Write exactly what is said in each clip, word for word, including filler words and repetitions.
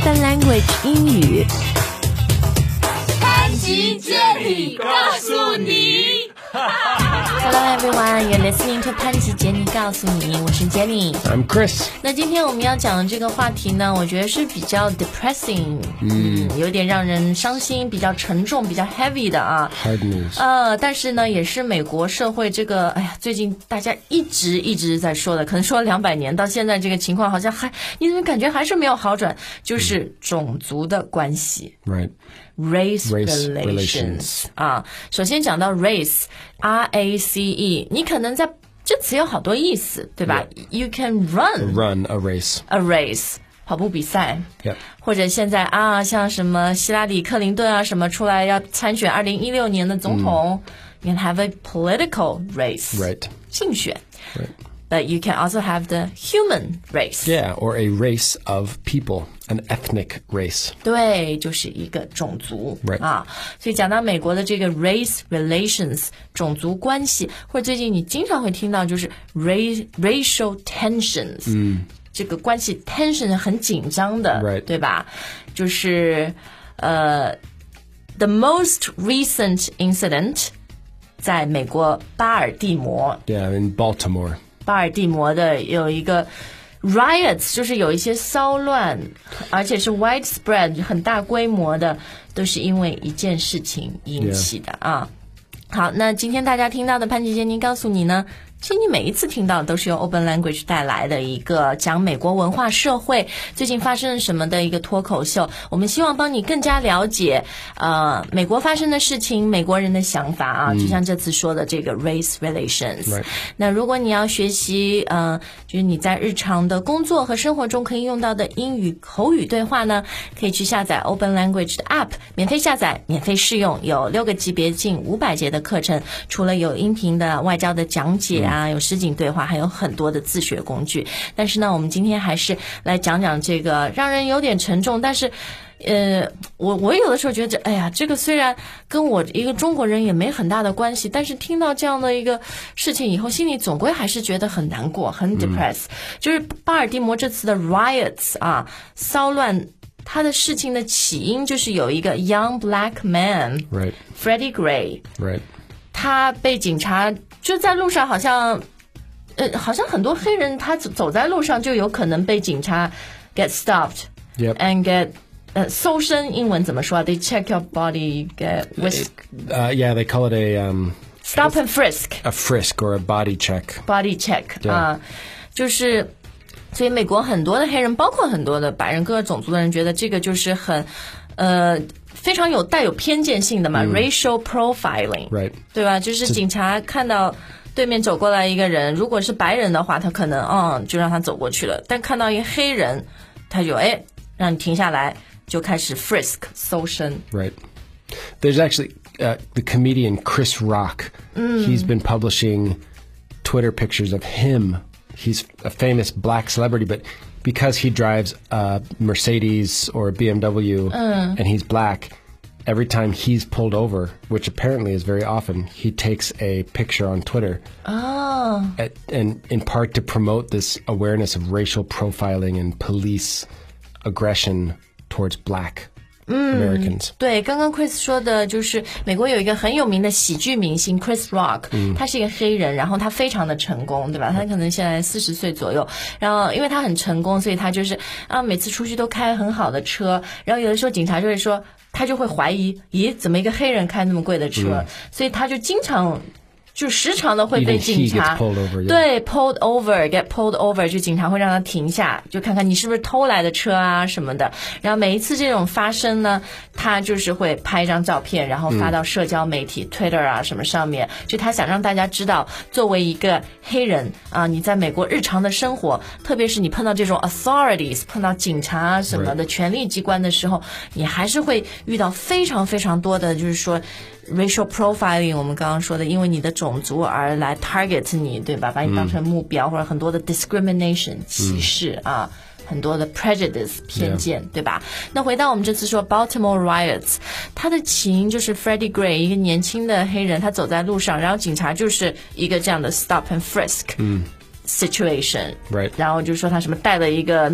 Open Language 英语。 潘吉接力告诉你。 Hello everyone, you're listening to 潘吉杰尼告诉你，我是 Jenny， I'm Chris。 那今天我们要讲的这个话题呢，我觉得是比较 depressing， 嗯, 嗯有点让人伤心，比较沉重，比较 heavy 的啊。 Hard news。 呃，但是呢，也是美国社会这个，哎呀，最近大家一直一直在说的，可能说了两百年，到现在这个情况好像还，你怎么感觉还是没有好转？就是种族的关系。 Right。Race Race relations 啊，首先讲到 race R A C E， 你可能在这词有好多意思，对吧？ Yeah. You can run run a race a race 跑步比赛， Yep. 或者现在啊，像什么希拉里克林顿啊什么出来要参选二零一六年的总统， You can have a political race Right. 竞选 Right. But you can also have the human race. Yeah, or a race of people, an ethnic race. 对，就是一个种族 Right. 啊。所以讲到美国的这个 race relations 种族关系，或者最近你经常会听到就是 race racial tensions， 嗯，这个关系 tension 很紧张的， Right. 对吧？就是呃 ，the most recent incident 在美国巴尔的摩 Yeah, in Baltimore. 巴尔的摩的有一个 riots， 就是有一些骚乱，而且是 widespread 很大规模的，都是因为一件事情引起的 Yeah. 啊。好，那今天大家听到的潘吉杰尼告诉你呢，其实你每一次听到都是由 Open Language 带来的一个讲美国文化社会最近发生了什么的一个脱口秀，我们希望帮你更加了解呃美国发生的事情，美国人的想法啊，就像这次说的这个 race relations、right. 那如果你要学习呃就是你在日常的工作和生活中可以用到的英语口语对话呢，可以去下载 Open Language 的 App， 免费下载，免费试用，有六个级别近五百节的课程，除了有音频的外教的讲解啊，有实景对话，还有很多的自学工具。但是呢，我们今天还是来讲讲这个让人有点沉重，但是呃，我我有的时候觉得，哎呀，这个虽然跟我一个中国人也没很大的关系，但是听到这样的一个事情以后，心里总归还是觉得很难过，很 depressed、嗯。就是巴尔的摩这次的 riots 啊，骚乱。他的事情的起因就是有一个 young black man Right. Freddie Gray Right. 他被警察就在路上好像呃，好像很多黑人他走走在路上就有可能被警察 get stopped Yep. and get 呃搜身英文怎么说啊 They check your body get whisk Uh, yeah, they call it a um, stop and frisk a frisk or a body check. body check、yeah. 啊，就是所以美国很多的黑人包括很多的白人各个种族的人觉得这个就是很呃非常有带有偏见性的嘛、嗯、racial profiling Right. 对吧，就是警察看到对面走过来一个人，如果是白人的话他可能嗯就让他走过去了，但看到一个黑人他就哎让你停下来，就开始 frisk 搜身。 Right. There's actually uh, the comedian Chris Rock. Mm. He's been publishing Twitter pictures of him.He's a famous black celebrity, but because he drives a Mercedes or a B M W uh. and he's black, every time he's pulled over, which apparently is very often, he takes a picture on Twitter. Oh. At, and in part to promote this awareness of racial profiling and police aggression towards black.Americans. 嗯，对，刚刚 Chris 说的就是美国有一个很有名的喜剧明星 Chris Rock、嗯、他是一个黑人，然后他非常的成功，对吧？他可能现在四十岁左右，然后因为他很成功，所以他就是啊每次出去都开很好的车，然后有的时候警察就会说，他就会怀疑，咦，怎么一个黑人开那么贵的车？嗯、所以他就经常。就时常的会被警察 pulled over, yeah. 对 pulled over get pulled over 就警察会让他停下，就看看你是不是偷来的车啊什么的，然后每一次这种发生呢，他就是会拍一张照片，然后发到社交媒体、嗯、Twitter 啊什么上面，就他想让大家知道，作为一个黑人啊，你在美国日常的生活，特别是你碰到这种 authorities 碰到警察什么的、right. 权力机关的时候，你还是会遇到非常非常多的就是说racial profiling 我们刚刚说的因为你的种族而来 target 你，对吧，把你当成目标、嗯、或者很多的 discrimination 歧视、嗯、啊，很多的 prejudice 偏见、yeah. 对吧。那回到我们这次说 Baltimore riots， 它的起因就是 Freddie Gray 一个年轻的黑人，他走在路上，然后警察就是一个这样的 stop and frisk、嗯、situation、right. 然后就说他什么带了一个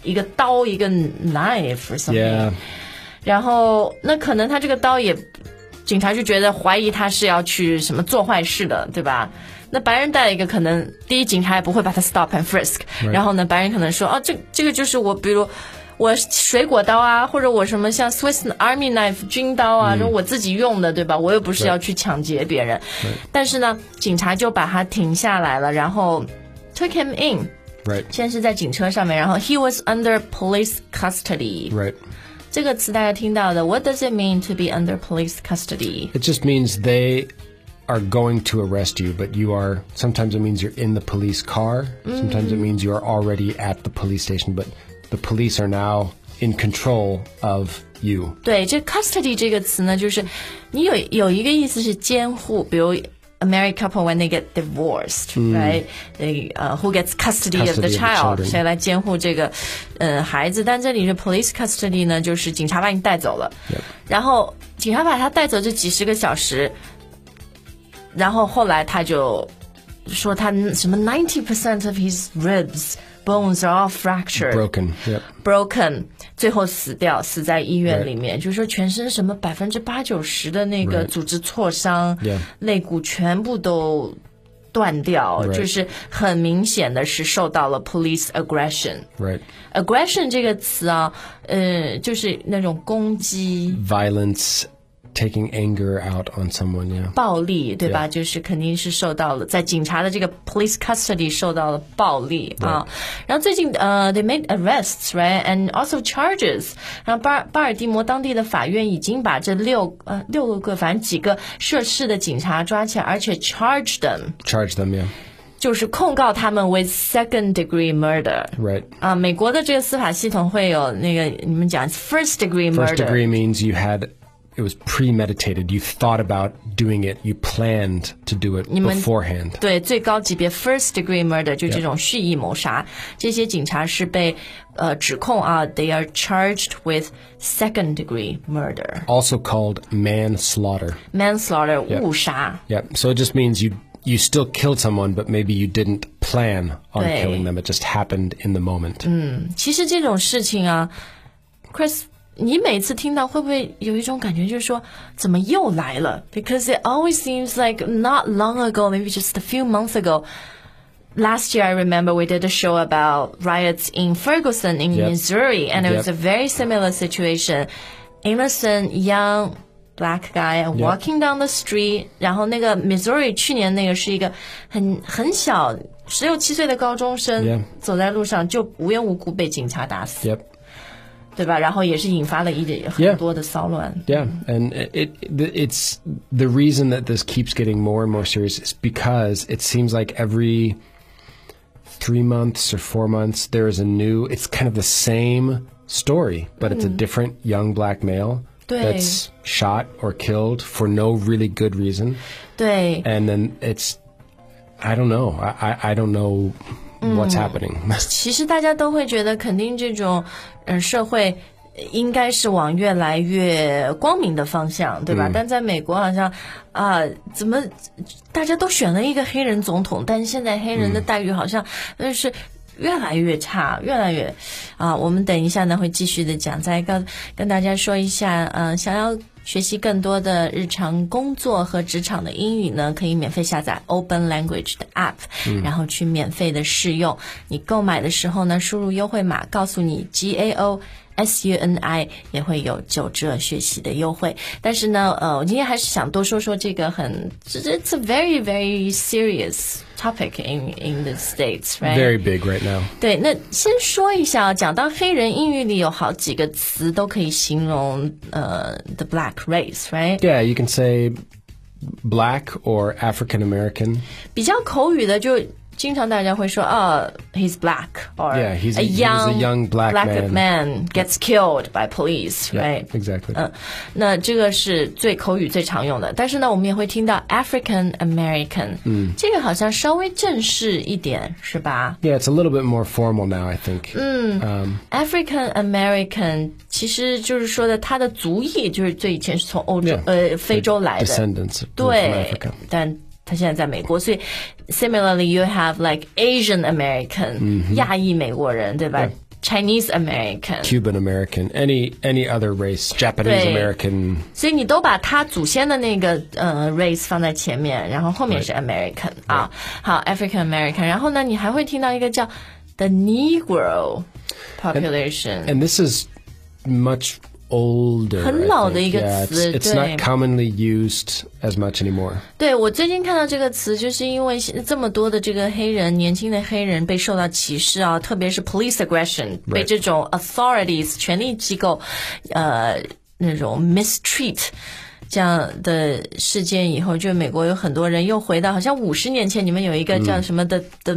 一个刀，一个 knife or something。 Yeah. 然后那可能他这个刀也，警察就觉得怀疑他是要去什么做坏事的，对吧？那白人带一个可能，第一警察也不会把他 stop and frisk， 然后呢，白人可能说，哦，这这个就是我，比如我水果刀啊，或者我什么像 Swiss Army knife 军刀啊，这、嗯、我自己用的，对吧？我又不是要去抢劫别人。但是呢，警察就把他停下来了，然后 took him in。Right. 先是在警车上面，然后 he was under police custody。Right. 这个词大家听到的 ，What does it mean to be under police custody? It just means they are going to arrest you, but you are, sometimes it means you're in the police car, sometimes it means you are already at the police station, but the police are now in control of you. 对，这 custody 这个词呢，就是你有有一个意思是监护，比如 a married couple when they get divorced, right? They, uh, who gets custody, custody of the child? 谁来监护这个呃孩子？但这里是 police custody 呢，就是警察把你带走了， yep. 然后警察把他带走这几十个小时。然后后来他就说他什么 ninety percent of his ribs bones are all fractured broken yep. broken 最后死掉死在医院里面， right. 就是说全身什么百分之八九十的那个组织挫伤， right. 肋骨全部都断掉， right. 就是很明显的是受到了 police aggression right. aggression 这个词啊，呃，就是那种攻击 violence。Taking anger out on someone, yeah. 暴力，对吧？ Yeah. 就是肯定是受到了在警察的这个 police custody 受到了暴力啊。然后最近呃、uh, they made arrests, right? And also charges. 然后巴巴尔的摩当地的法院已经把这六呃六个反正几个涉事的警察抓起来，而且 charge them. Charge them, yeah. 就是控告他们 with second degree murder. Right. 啊，美国的这个司法系统会有那个你们讲 first degree murder. First degree means you had.It was premeditated. You thought about doing it. You planned to do it beforehand. 对，最高级别 first degree murder 就这种蓄意谋杀。Yeah. 这些警察是被呃指控啊 ，they are charged with second degree murder. Also called manslaughter. Manslaughter 误 Yeah. 杀。 Yeah. So it just means you you still killed someone, but maybe you didn't plan on 对 killing them. It just happened in the moment. 嗯，其实这种事情啊 ，Chris。你每次听到会不会有一种感觉，就是说怎么又来了 ？Because it always seems like not long ago, maybe just a few months ago. Last year, I remember we did a show about riots in Ferguson, in yep. Missouri, and it yep. was a very similar situation. Innocent young black guy walking down the street. 然后那个 Missouri 去年那个是一个很很小十六七岁的高中生 yep. 走在路上就无缘无故被警察打死。 Yep. 对吧？然后也是引发了一很多的骚乱。 Yeah, and it, it it's the reason that this keeps getting more and more serious is because it seems like every three months or four months there is a new. It's kind of the same story, but it's a different young black male that's shot or killed for no really good reason. 对， and then it's I don't know. I I, I don't know. What's happening? 其实大家都会觉得，肯定这种，嗯、呃，社会应该是往越来越光明的方向，对吧？嗯、但在美国好像啊、呃，怎么大家都选了一个黑人总统，但是现在黑人的待遇好像就是越来越差，越来越啊。我们等一下呢会继续的讲，再跟跟大家说一下，嗯、呃，想要学习更多的日常工作和职场的英语呢，可以免费下载 Open Language 的 App，、嗯、然后去免费的试用。你购买的时候呢，输入优惠码，告诉你 G A O S U N I 也会有九折学习的优惠。但是呢，呃，我今天还是想多说说这个很 ，It's a very very serious topic in in the States, right? Very big right now. 对，那先说一下，讲到黑人英语里有好几个词都可以形容呃 the black race, right? Yeah, you can say black or African American. 比较口语的就。经常大家会说，哦、oh, ，he's black, or yeah, he's a, a young, he's a young black, black man. man gets killed by police, right? Yeah, exactly. 嗯，那这个是最口语最常用的。但是呢，我们也会听到 African American， 嗯，这个好像稍微正式一点，是吧 ？Yeah, it's a little bit more formal now, I think. 嗯、um,，African American 其实就是说的，他的族裔就是最以前是从欧洲、yeah, 呃非洲来的 descendants， 对，但。他现在在美国，所以 similarly you have like Asian American、嗯、亚裔美国人，对吧？ Chinese American, Cuban American, any any other race, Japanese American. 所以你都把他祖先的那个呃 race 放在前面，然后后面是 American 啊，好 African American， 然后呢，你还会听到一个叫 the Negro population, and, and this is much older. 很老的一个 yeah, 词， it's, it's not commonly used as much anymore. 对，我最近看到这个词，就是因为这么多的这个黑人，年轻的黑人被受到歧视啊，特别是 police aggression， 被这种 authorities 权力机构，呃，那种 mistreat 这样的事件以后，就美国有很多人又回到好像五十年前，你们有一个叫什么的、嗯、the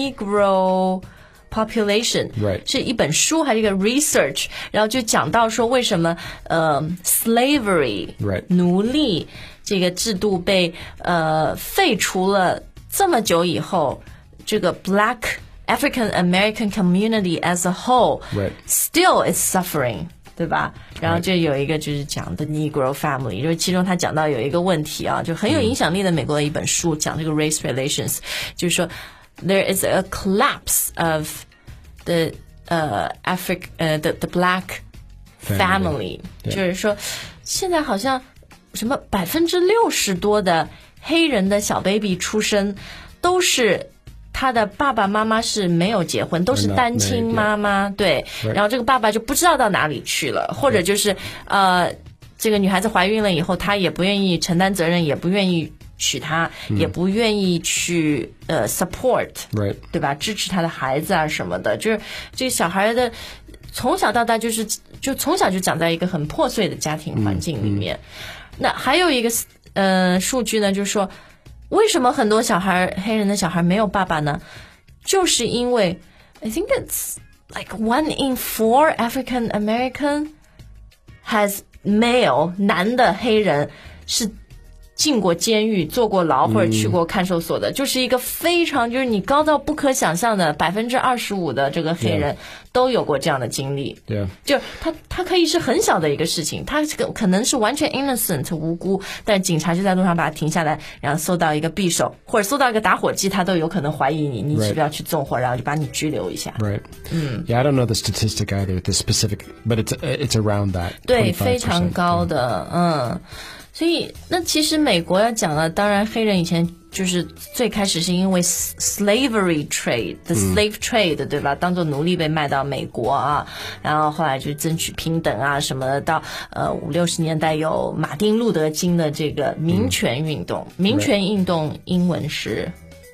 Negro population， right. 是一本书还是一个 research， 然后就讲到说为什么呃 slavery right. 奴隶这个制度被呃废除了这么久以后，这个 black African American community as a whole right. still is suffering， 对吧？然后就有一个就是讲的 Negro family， 就是其中他讲到有一个问题啊，就很有影响力的美国的一本书，讲这个 race relations， 就是说there is a collapse of the uh, Afric uh, the the black family，, family. Yeah. 就是说现在好像什么百分之六十多的黑人的小 baby 出生都是他的爸爸妈妈是没有结婚，都是单亲妈妈，对， right. 然后这个爸爸就不知道到哪里去了，或者就是呃这个女孩子怀孕了以后，她也不愿意承担责任，也不愿意娶她，嗯、也不愿意去呃 support， right. 对吧？支持她的孩子啊什么的，就是这个小孩的从小到大就是就从小就长在一个很破碎的家庭环境里面。嗯嗯、那还有一个呃数据呢，就是说为什么很多小孩黑人的小孩没有爸爸呢？就是因为 I think it's like one in four African American has male 男的黑人是进过监狱、坐过牢或者去过看守所的，嗯、就是一个非常就是你高到不可想象的百分之二十五的这个黑人都有过这样的经历。 Yeah. 就他他可以是很小的一个事情，他可能是完全 innocent 无辜，但警察就在路上把他停下来，然后搜到一个匕首或者搜到一个打火机，他都有可能怀疑你，你是不是要去纵火，然后就把你拘留一下。 Right. 嗯。Yeah, I don't know the statistic either, the specific, but it's it's around that. 对，非常高的，嗯。所以那其实美国要讲了，当然黑人以前就是最开始是因为 slavery trade the slave trade、嗯、对吧，当做奴隶被卖到美国啊，然后后来就争取平等啊什么的，到呃五六十年代有马丁路德金的这个民权运动、嗯、民权运动英文是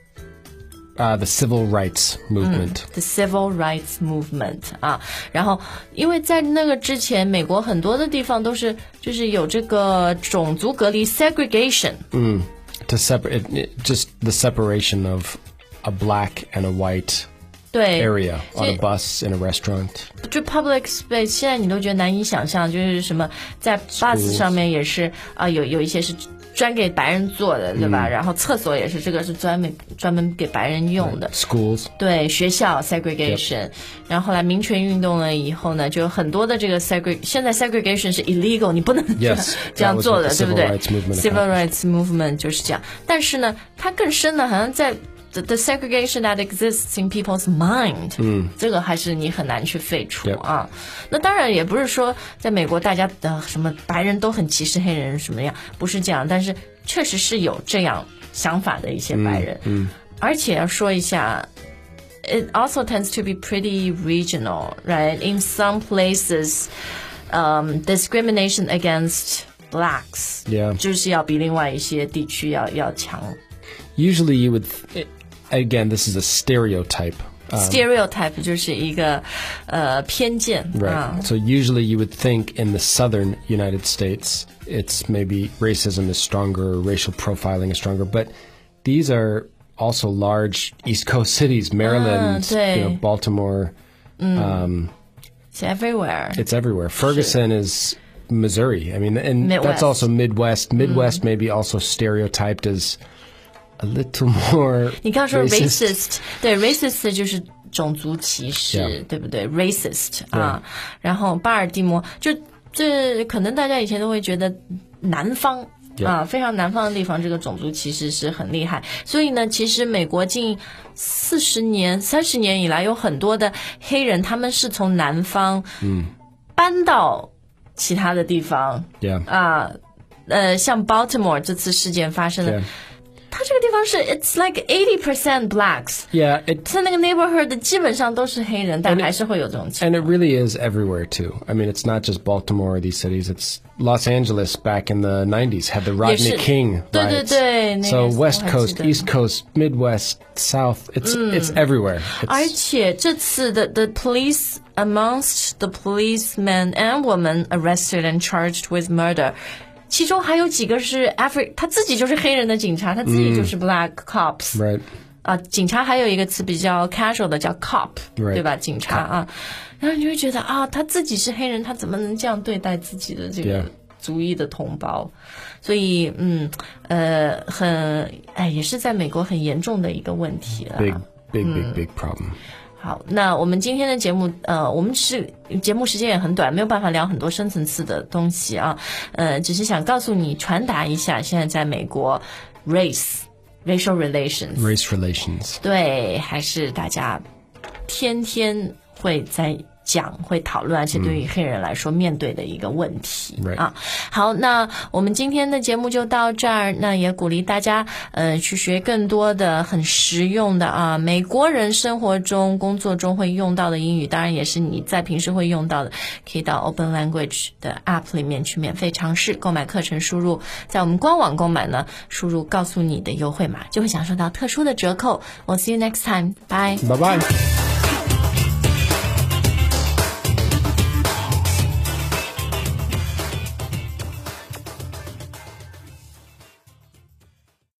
Uh, the civil rights movement. 嗯、the civil rights movement 啊，然后因为在那个之前，美国很多的地方都是就是有这个种族隔离 segregation。 嗯 ，to separate just the separation of a black and a white 对 area on a bus in a restaurant。 就 public space 现在你都觉得难以想象，就是什么在 bus 上面也是啊、呃，有有一些是专给白人做的，对吧？嗯、然后厕所也是，这个是专门专门给白人用的。 Schools 对学校 segregation，、yep. 然后后来民权运动了以后呢，就有很多的这个 segregation， 现在 segregation 是 illegal， 你不能 yes, 这样做的，对不对 ？Civil rights movement 就是这样，但是呢，它更深的，好像在。The, the segregation that exists in people's mind， 嗯，这个还是你很难去废除、yep. 啊。那当然也不是说在美国大家的什么白人都很歧视黑人什么样，不是这样，但是确实是有这样想法的一些白人。嗯，嗯而且要说一下 ，it also tends to be pretty regional, right? In some places, um, discrimination against blacks, yeah, 就是要比另外一些地区要要强。 Usually, you would. Again, this is a stereotype. Um, stereotype 就是一个呃偏见。 Right. 啊 So usually you would think in the southern United States, it's maybe racism is stronger, racial profiling is stronger, but these are also large East Coast cities, Maryland, ah, you know, Baltimore. Mm. Um, it's everywhere. It's everywhere. Ferguson is Missouri. I mean, and Midwest. That's also Midwest. Midwest mm. maybe also stereotyped as a little more 你刚说 racist, racist 对 racist 就是种族歧视 yeah. 对不对 racist 啊、yeah. 然后巴尔的摩就这可能大家以前都会觉得南方 Yeah. 啊，非常南方的地方，这个种族其实是很厉害。所以呢，其实美国近四十年、三十年以来，有很多的黑人，他们是从南方嗯搬到其他的地方。 Yeah. 啊，呃，像 Baltimore 这次事件发生的。Yeah.它这个地方是 it's like eighty percent blacks. Yeah, it, 在那个 neighborhood 基本上都是黑人，但还是会有这种情况。 And it really is everywhere too. I mean, it's not just Baltimore or these cities. It's Los Angeles back in the nineties had the Rodney King riots. 对对对 So West Coast, East Coast, Midwest, South, it's it's everywhere. It's, 而且这次的 the police amongst the policemen and women arrested and charged with murder.其中还有几个是 Afri， 他自己就是黑人的警察，他自己就是 black cops。 Right. 啊，警察还有一个词比较 casual 的叫 cop， right. 对吧？警察啊，然后你会觉得啊，他自己是黑人，他怎么能这样对待自己的这个族裔的同胞？ Yeah. 所以，嗯，呃，很，哎，也是在美国很严重的一个问题了。 Big, big, big, big problem. 好，那我们今天的节目，呃，我们是节目时间也很短，没有办法聊很多深层次的东西啊，呃，只是想告诉你，传达一下，现在在美国 ，race racial relations race relations 对，还是大家天天会在讲，会讨论，而且对于黑人来说，面对的一个问题、 嗯、 啊。好，那我们今天的节目就到这儿，那也鼓励大家呃去学更多的很实用的啊，美国人生活中、工作中会用到的英语，当然也是你在平时会用到的，可以到 Open Language 的 App 里面去免费尝试购买课程，输入在我们官网购买呢，输入告诉你的优惠码，就会享受到特殊的折扣。我 see you next time， bye bye bye。